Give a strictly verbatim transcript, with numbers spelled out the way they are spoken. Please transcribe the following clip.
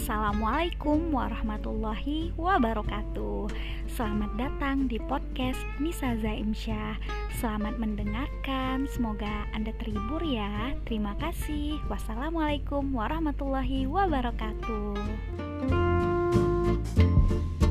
Assalamualaikum warahmatullahi wabarakatuh. Selamat datang di podcast Nisa Zaimsyah. Selamat mendengarkan, semoga Anda terhibur ya. Terima kasih. Wassalamualaikum warahmatullahi wabarakatuh.